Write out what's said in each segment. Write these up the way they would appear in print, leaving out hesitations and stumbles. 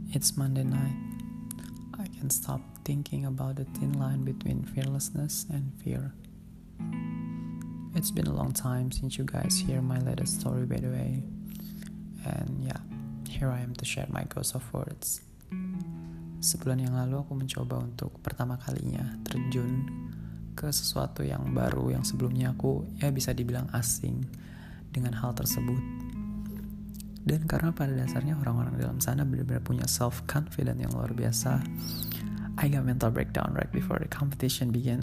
It's Monday night. I can't stop thinking about the thin line between fearlessness and fear. It's been a long time since you guys hear my latest story, by the way. And yeah, here I am to share my ghost of words. Sebulan yang lalu aku mencoba untuk pertama kalinya terjun ke sesuatu yang baru yang sebelumnya aku bisa dibilang asing dengan hal tersebut. Dan karena pada dasarnya orang-orang dalam sana benar-benar punya self-confidence yang luar biasa, I got mental breakdown right before the competition began.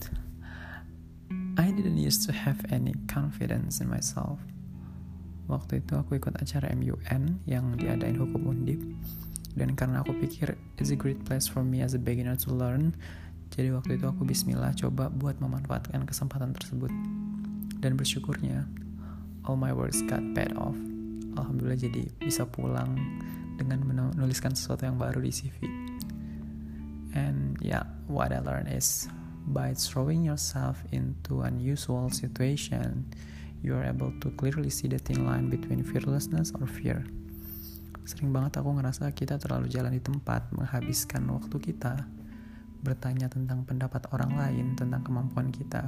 I didn't used to have any confidence in myself. Waktu itu aku ikut acara MUN yang diadain Hukum Undip. Dan karena aku pikir it's a great place for me as a beginner to learn, jadi waktu itu aku bismillah coba buat memanfaatkan kesempatan tersebut. Dan bersyukurnya, all my works got paid off. Alhamdulillah jadi bisa pulang dengan menuliskan sesuatu yang baru di CV. And yeah, what I learned is by throwing yourself into unusual situation, you are able to clearly see the thin line between fearlessness or fear. Sering banget aku ngerasa kita terlalu jalan di tempat, menghabiskan waktu kita bertanya tentang pendapat orang lain tentang kemampuan kita.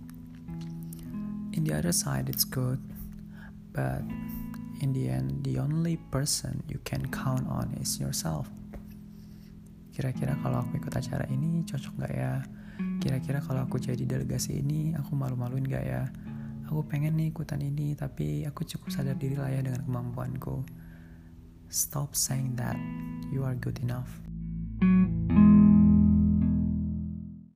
In the other side it's good, but in the end the only person you can count on is yourself. Kira-kira kalau aku ikut acara ini cocok gak ya? Kira-kira kalau aku jadi delegasi ini aku malu-maluin gak ya? Aku pengen nih ikutan ini, tapi aku cukup sadar diri lah ya dengan kemampuanku. Stop saying that you are good enough.